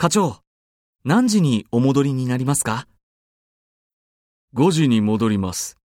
課長、何時にお戻りになりますか？ 5時に戻ります。